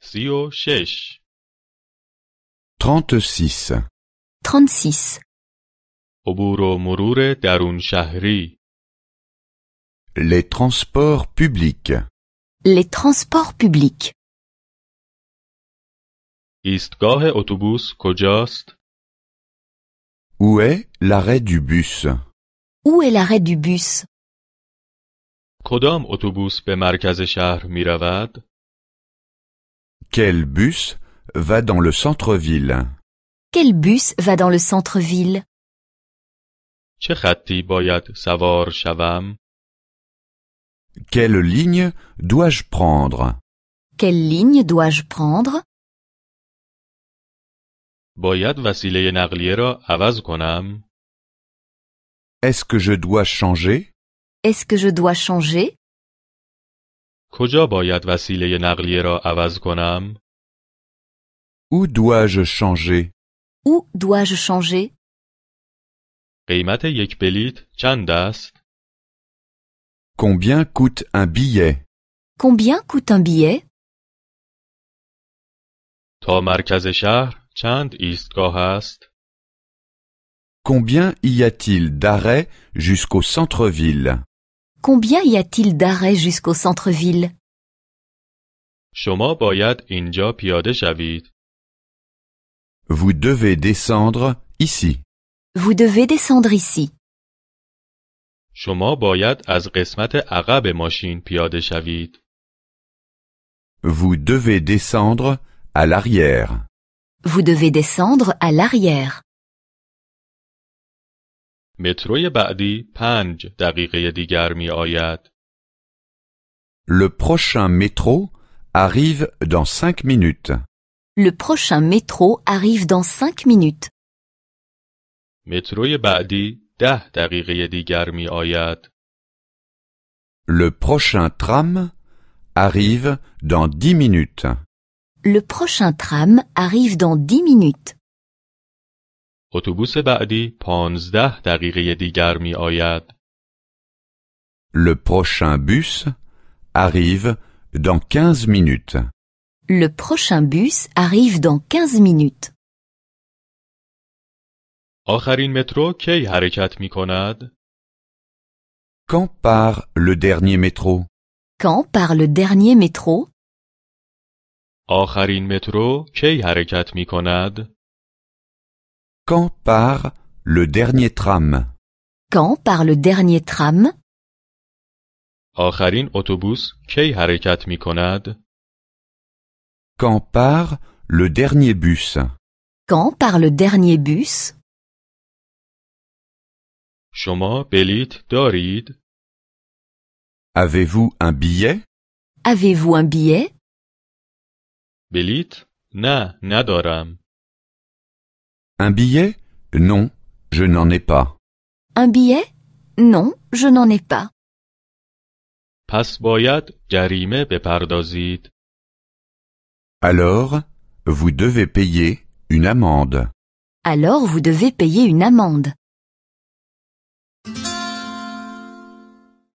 36 36. 36. عبور و مرور درون شهری Les transports publics. Les transports publics. ایستگاه اتوبوس کجاست؟ Où est l'arrêt du bus? Où est l'arrêt du bus? کدام اتوبوس به مرکز شهر می رود؟ Quel bus va dans le centre-ville? Quel bus va dans le centre-ville? چه خطی باید سوار شوم؟ Quelle ligne dois-je prendre? Quelle ligne dois-je prendre? باید وسیله نقلیه را عوض کنم؟ Est-ce que je dois changer? Est-ce que je dois changer? کجا باید وسیله نقلیه را عوض کنم؟ Où dois-je changer? Où dois-je changer? قیمت یک بلیت چند است؟ Combien coûte un billet? Combien coûte un billet? تا مرکز شهر چند ایستگاه است؟ Combien y a-t-il d'arrêts jusqu'au centre-ville? Combien y a-t-il d'arrêts jusqu'au centre-ville? شما باید اینجا پیاده شوید. Vous devez descendre ici. Vous devez descendre ici. شما باید از قسمت عقب ماشین پیاده شوید. Vous devez descendre à l'arrière. Vous devez descendre à l'arrière. متروی بعدی 5 دقیقه دیگر می آید. Le prochain métro arrive dans 5 minutes. Le prochain métro arrive dans 5 minutes. متروی بعدی 10 دقیقه دیگر می آید. Le prochain tram arrive dans 10 minutes. Le prochain tram arrive dans 10 minutes. اتوبوس بعدی 15 دقیقه دیگر می آید. Le prochain bus arrive dans 15 minutes. Le prochain bus arrive dans 15 minutes. آخرین مترو کی حرکت می کند؟ Quand part le dernier métro? Quand part le dernier métro? آخرین مترو کی حرکت می کند؟ Quand part le dernier tram? Quand part le dernier tram? آخرین اتوبوس کی حرکت می کند؟ Quand part le dernier bus? Quand part le dernier bus? شما بلیت دارید؟ Avez-vous un billet? Avez-vous un billet? بلیت؟ نه، ندارم. Un billet? Non, je n'en ai pas. Un billet? Non, je n'en ai pas. پس باید جریمه بپردازید. Alors, vous devez payer une amende. Alors vous devez payer une amende.